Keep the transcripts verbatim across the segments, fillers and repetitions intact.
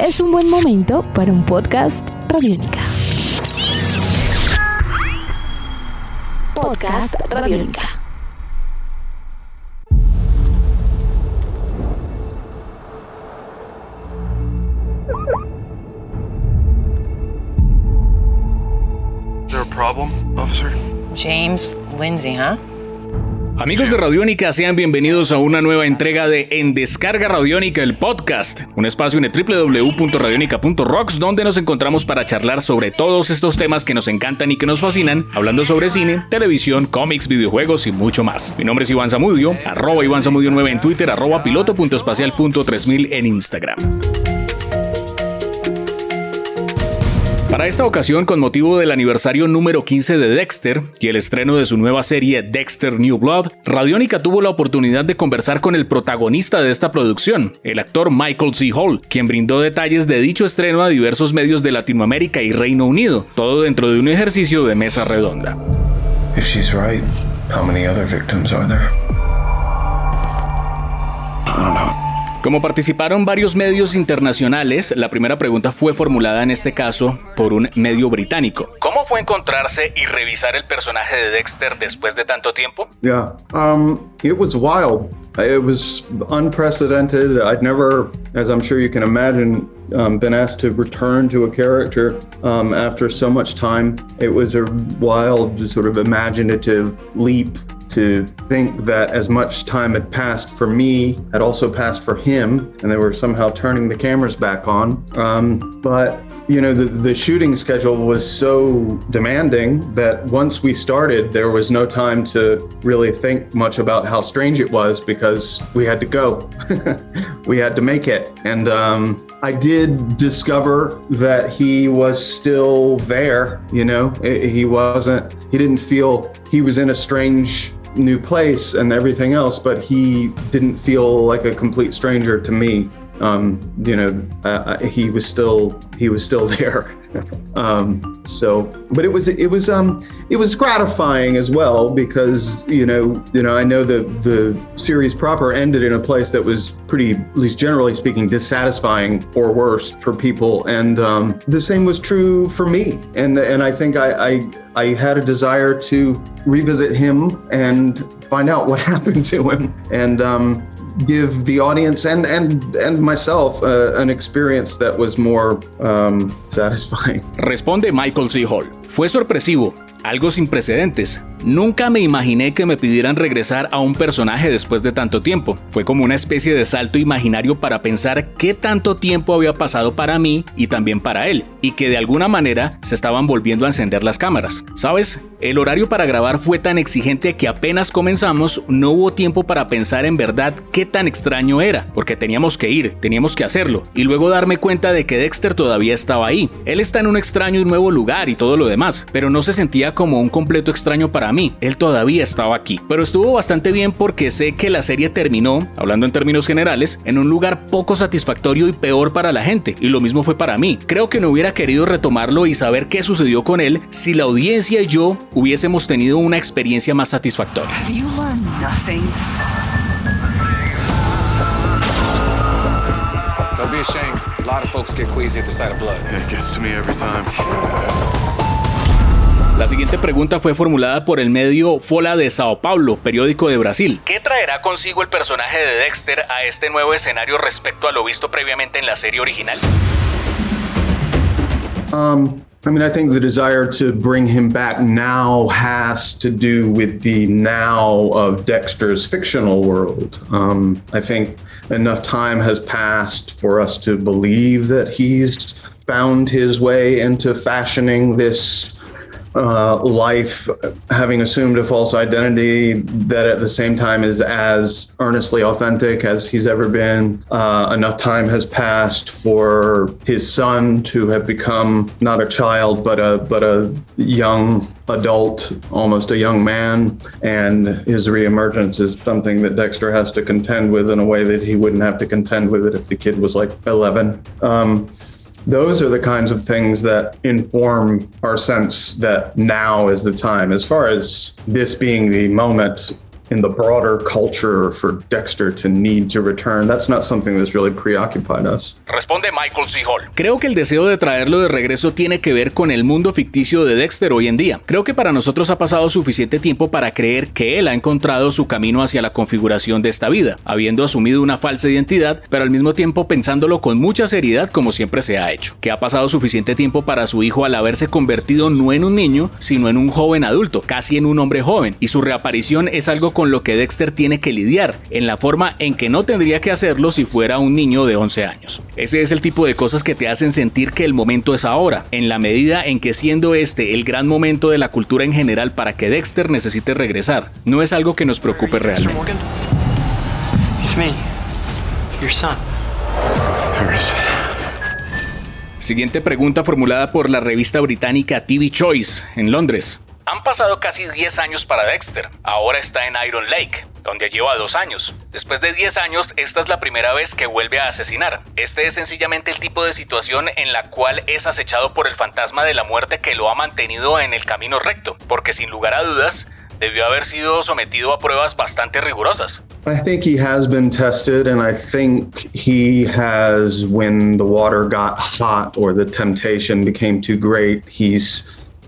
es un buen momento para un podcast Radiónica. Podcast Radiónica. Is there a problem, officer? James Lindsay, huh? Amigos de Radiónica, sean bienvenidos a una nueva entrega de En Descarga Radiónica, el podcast, un espacio en el doble u doble u doble u punto radionica punto rocks donde nos encontramos para charlar sobre todos estos temas que nos encantan y que nos fascinan, hablando sobre cine, televisión, cómics, videojuegos y mucho más. Mi nombre es Iván Zamudio, arroba Iván Zamudio nueve en Twitter, arroba piloto punto espacial punto tres mil en Instagram. Para esta ocasión, con motivo del aniversario número quince de Dexter y el estreno de su nueva serie Dexter New Blood, Radiónica tuvo la oportunidad de conversar con el protagonista de esta producción, el actor Michael C. Hall, quien brindó detalles de dicho estreno a diversos medios de Latinoamérica y Reino Unido, todo dentro de un ejercicio de mesa redonda. If she's right, how many other victims are there? I don't know. Como participaron varios medios internacionales, la primera pregunta fue formulada en este caso por un medio británico. ¿Cómo fue encontrarse y revisar el personaje de Dexter después de tanto tiempo? Yeah, um, it was wild. It was unprecedented. I'd never, as I'm sure you can imagine, um, been asked to return to a character um, after so much time. It was a wild, sort of imaginative leap to think that as much time had passed for me, had also passed for him, and they were somehow turning the cameras back on. Um, but you know, the, the shooting schedule was so demanding that once we started, there was no time to really think much about how strange it was because we had to go. We had to make it. And um, I did discover that he was still there, you know, he wasn't, he didn't feel he was in a strange new place and everything else, but he didn't feel like a complete stranger to me. Um, you know, uh, he was still he was still there. um, so, but it was it was um it was gratifying as well because you know you know I know the the series proper ended in a place that was pretty, at least generally speaking, dissatisfying or worse for people, and um, the same was true for me. And and I think I, I I had a desire to revisit him and find out what happened to him, and um, give the audience and and and myself uh, an experience that was more um, satisfying. Responde Michael C. Hall. Fue sorpresivo, algo sin precedentes. Nunca me imaginé que me pidieran regresar a un personaje después de tanto tiempo. Fue como una especie de salto imaginario para pensar qué tanto tiempo había pasado para mí y también para él, y que de alguna manera se estaban volviendo a encender las cámaras. ¿Sabes? El horario para grabar fue tan exigente que apenas comenzamos no hubo tiempo para pensar en verdad qué tan extraño era, porque teníamos que ir, teníamos que hacerlo, y luego darme cuenta de que Dexter todavía estaba ahí. Él está en un extraño y nuevo lugar y todo lo demás, pero no se sentía como un completo extraño para mí. Él todavía estaba aquí, pero estuvo bastante bien porque sé que la serie terminó, hablando en términos generales, en un lugar poco satisfactorio y peor para la gente, y lo mismo fue para mí. Creo que no hubiera querido retomarlo y saber qué sucedió con él si la audiencia y yo hubiésemos tenido una experiencia más satisfactoria. Have you learned nothing? Don't be ashamed. A lot of folks get queasy at the sight of blood. It gets to me every time. La siguiente pregunta fue formulada por el medio Folha de Sao Paulo, periódico de Brasil. ¿Qué traerá consigo el personaje de Dexter a este nuevo escenario respecto a lo visto previamente en la serie original? Um, I mean, I think the desire to bring him back now has to do with the now of Dexter's fictional world. Um, I think enough time has passed for us to believe that he's found his way into fashioning this Uh, life, having assumed a false identity that at the same time is as earnestly authentic as he's ever been. Uh, enough time has passed for his son to have become not a child, but a but a young adult, almost a young man, and his reemergence is something that Dexter has to contend with in a way that he wouldn't have to contend with it if the kid was like eleven. Um, Those are the kinds of things that inform our sense that now is the time. As far as this being the moment, in the broader culture for Dexter to need to return. That's not something that's really preoccupied us. Responde Michael C. Hall. Creo que el deseo de traerlo de regreso tiene que ver con el mundo ficticio de Dexter hoy en día. Creo que para nosotros ha pasado suficiente tiempo para creer que él ha encontrado su camino hacia la configuración de esta vida, habiendo asumido una falsa identidad, pero al mismo tiempo pensándolo con mucha seriedad como siempre se ha hecho. Que ha pasado suficiente tiempo para su hijo al haberse convertido no en un niño, sino en un joven adulto, casi en un hombre joven, y su reaparición es algo con lo que Dexter tiene que lidiar, en la forma en que no tendría que hacerlo si fuera un niño de once años. Ese es el tipo de cosas que te hacen sentir que el momento es ahora, en la medida en que siendo este el gran momento de la cultura en general para que Dexter necesite regresar, no es algo que nos preocupe realmente. It's me, your son. Harrison. Siguiente pregunta formulada por la revista británica T V Choice en Londres. Han pasado casi diez años para Dexter. Ahora está en Iron Lake, donde lleva dos años. Después de diez años, esta es la primera vez que vuelve a asesinar. Este es sencillamente el tipo de situación en la cual es acechado por el fantasma de la muerte que lo ha mantenido en el camino recto, porque sin lugar a dudas, debió haber sido sometido a pruebas bastante rigurosas. I think he has been tested, and I think he has, when the water got hot or the temptation became too great, he's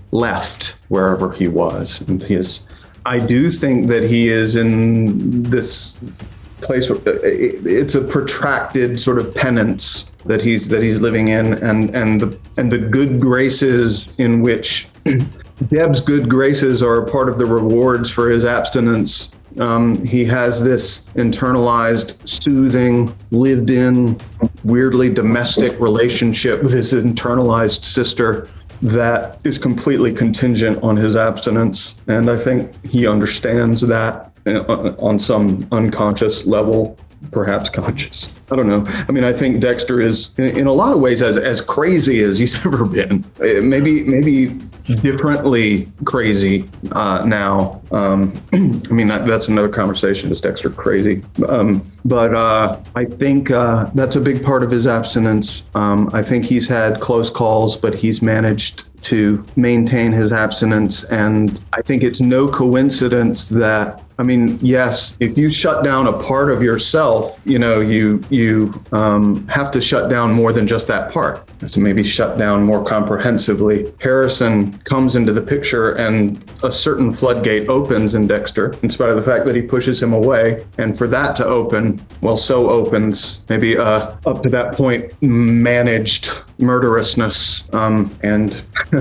left wherever he was. And he is, I do think that he is in this place where it's a protracted sort of penance that he's that he's living in, and and the and the good graces in which Deb's good graces are a part of the rewards for his abstinence. Um, he has this internalized, soothing, lived-in, weirdly domestic relationship with his internalized sister that is completely contingent on his abstinence. And I think he understands that on some unconscious level, perhaps conscious. I don't know. I mean, I think Dexter is, in a lot of ways, as as crazy as he's ever been. Maybe maybe differently crazy uh, now. Um, I mean, that, that's another conversation. Is Dexter crazy? Um, but uh, I think uh, that's a big part of his abstinence. Um, I think he's had close calls, but he's managed to maintain his abstinence. And I think it's no coincidence that, I mean, yes, if you shut down a part of yourself, you know, you you um, have to shut down more than just that part. You have to maybe shut down more comprehensively. Harrison comes into the picture and a certain floodgate opens in Dexter, in spite of the fact that he pushes him away. And for that to open, well, so opens maybe uh, up to that point managed murderousness, um, and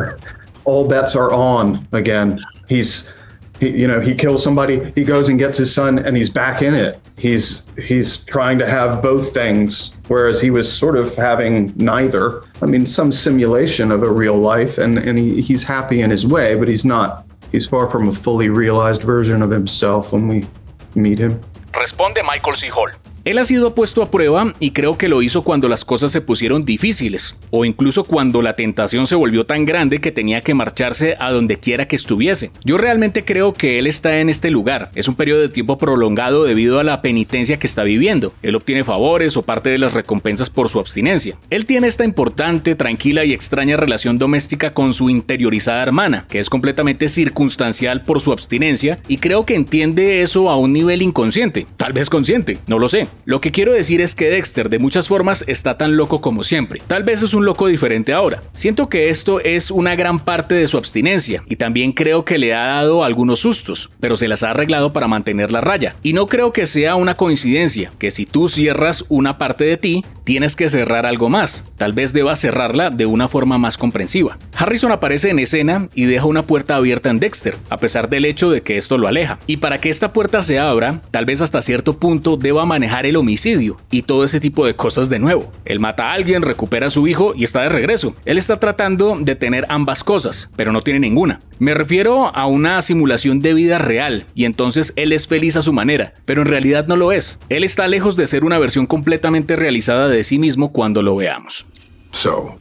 all bets are on again. He's He, you know, he kills somebody, he goes and gets his son, and he's back in it. He's he's trying to have both things, whereas he was sort of having neither. I mean, some simulation of a real life, and, and he, he's happy in his way, but he's not. He's far from a fully realized version of himself when we meet him. Responde Michael C. Hall. Él ha sido puesto a prueba y creo que lo hizo cuando las cosas se pusieron difíciles, o incluso cuando la tentación se volvió tan grande que tenía que marcharse a donde quiera que estuviese. Yo realmente creo que él está en este lugar. Es un periodo de tiempo prolongado debido a la penitencia que está viviendo. Él obtiene favores o parte de las recompensas por su abstinencia. Él tiene esta importante, tranquila y extraña relación doméstica con su interiorizada hermana, que es completamente circunstancial por su abstinencia, y creo que entiende eso a un nivel inconsciente, tal vez consciente, no lo sé. Lo que quiero decir es que Dexter de muchas formas está tan loco como siempre. Tal vez es un loco diferente ahora. Siento que esto es una gran parte de su abstinencia y también creo que le ha dado algunos sustos, pero se las ha arreglado para mantener la raya. Y no creo que sea una coincidencia que si tú cierras una parte de ti, tienes que cerrar algo más. Tal vez debas cerrarla de una forma más comprensiva. Harrison aparece en escena y deja una puerta abierta en Dexter, a pesar del hecho de que esto lo aleja. Y para que esta puerta se abra, tal vez hasta cierto punto deba manejar el homicidio y todo ese tipo de cosas de nuevo. Él mata a alguien, recupera a su hijo y está de regreso. Él está tratando de tener ambas cosas, pero no tiene ninguna. Me refiero a una simulación de vida real y entonces él es feliz a su manera, pero en realidad no lo es. Él está lejos de ser una versión completamente realizada de sí mismo cuando lo veamos. So,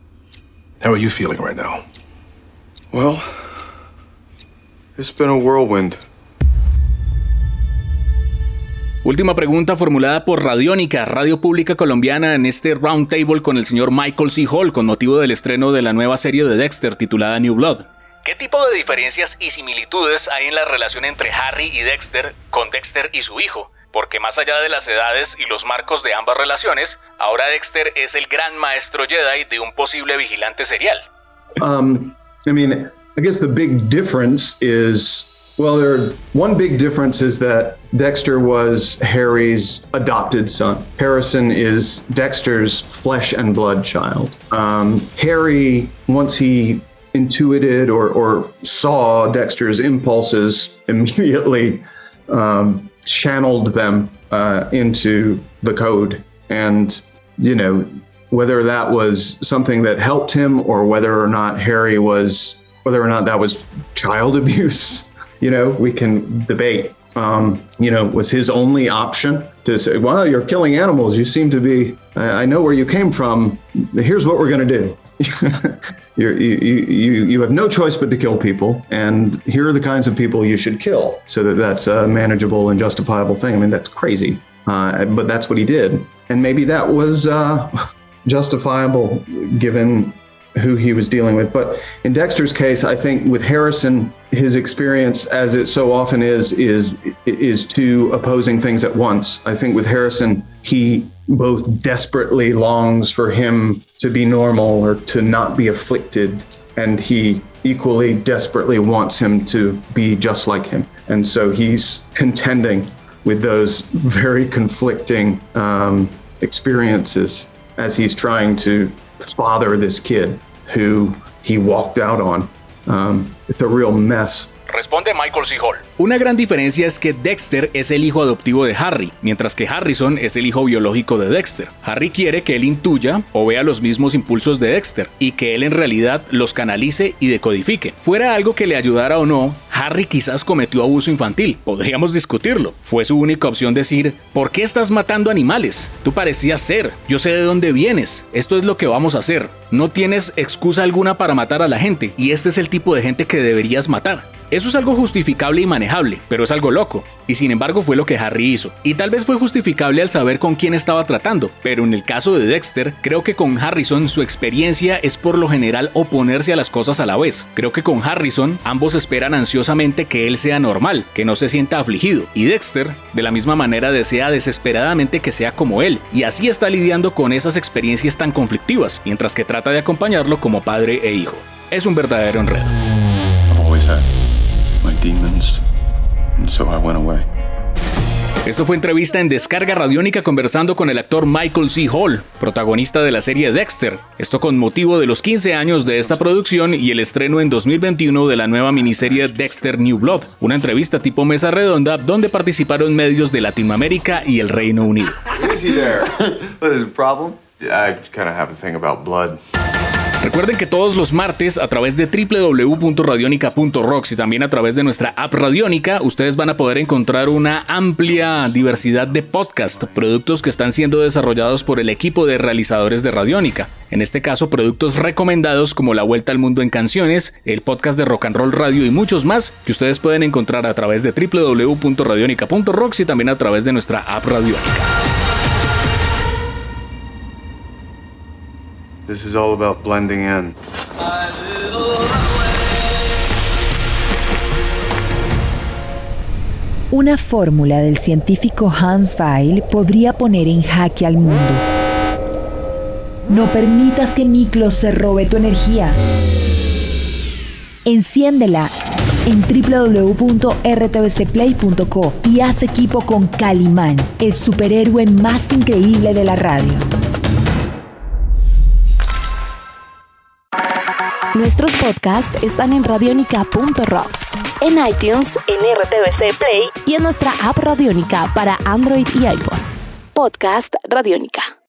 how are you feeling right now? Well, it's been a whirlwind. Última pregunta formulada por Radiónica, Radio Pública Colombiana, en este roundtable con el señor Michael C. Hall con motivo del estreno de la nueva serie de Dexter titulada New Blood. ¿Qué tipo de diferencias y similitudes hay en la relación entre Harry y Dexter con Dexter y su hijo? Porque más allá de las edades y los marcos de ambas relaciones, ahora Dexter es el gran maestro Jedi de un posible vigilante serial. Um, I mean, I guess the big difference is, well, there one big difference is that Dexter was Harry's adopted son. Harrison is Dexter's flesh and blood child. Um, Harry, once he intuited or, or saw Dexter's impulses, immediately um, channeled them uh, into the code. And, you know, whether that was something that helped him or whether or not Harry was, whether or not that was child abuse, you know, we can debate. Um, you know, was his only option to say, well, you're killing animals. You seem to be, I, I know where you came from. Here's what we're going to do. You're, you, you, you have no choice but to kill people. And here are the kinds of people you should kill so that that's a manageable and justifiable thing. I mean, that's crazy. Uh, but that's what he did. And maybe that was uh, justifiable given who he was dealing with. But in Dexter's case, I think with Harrison, his experience, as it so often is, is is two opposing things at once. I think with Harrison, he both desperately longs for him to be normal or to not be afflicted, and he equally desperately wants him to be just like him. And so he's contending with those very conflicting um, experiences as he's trying to father this kid who he walked out on. Um, it's a real mess. Responde Michael C. Hall. Una gran diferencia es que Dexter es el hijo adoptivo de Harry, mientras que Harrison es el hijo biológico de Dexter. Harry quiere que él intuya o vea los mismos impulsos de Dexter y que él en realidad los canalice y decodifique. Fuera algo que le ayudara o no, Harry quizás cometió abuso infantil. Podríamos discutirlo. Fue su única opción decir, ¿por qué estás matando animales? Tú parecías ser. Yo sé de dónde vienes. Esto es lo que vamos a hacer. No tienes excusa alguna para matar a la gente y este es el tipo de gente que deberías matar. Eso es algo justificable y manejable, pero es algo loco, y sin embargo fue lo que Harry hizo. Y tal vez fue justificable al saber con quién estaba tratando, pero en el caso de Dexter, creo que con Harrison su experiencia es por lo general oponerse a las cosas a la vez. Creo que con Harrison ambos esperan ansiosamente que él sea normal, que no se sienta afligido, y Dexter de la misma manera desea desesperadamente que sea como él, y así está lidiando con esas experiencias tan conflictivas, mientras que trata de acompañarlo como padre e hijo. Es un verdadero enredo. I've always had my demons, and so I went away. Esto fue entrevista en Descarga Radiónica conversando con el actor Michael C. Hall, protagonista de la serie Dexter. Esto con motivo de los quince años de esta producción y el estreno en dos mil veintiuno de la nueva miniserie Dexter New Blood. Una entrevista tipo mesa redonda donde participaron medios de Latinoamérica y el Reino Unido. Easy there. What is the problem? I kind of have a thing about blood. Recuerden que todos los martes a través de doble u doble u doble u punto radionica punto rocks y también a través de nuestra app Radiónica, ustedes van a poder encontrar una amplia diversidad de podcast, productos que están siendo desarrollados por el equipo de realizadores de Radiónica. En este caso, productos recomendados como La Vuelta al Mundo en Canciones, el podcast de Rock and Roll Radio y muchos más que ustedes pueden encontrar a través de doble u doble u doble u punto radionica punto rocks y también a través de nuestra app Radiónica. This is all about blending in. Una fórmula del científico Hans Weil podría poner en jaque al mundo. No permitas que Miklos se robe tu energía. Enciéndela en doble u doble u doble u punto r t v c play punto co y haz equipo con Calimán, el superhéroe más increíble de la radio. Nuestros podcasts están en radionica punto rocks, en iTunes, en R T V C Play y en nuestra app Radiónica para Android y iPhone. Podcast Radiónica.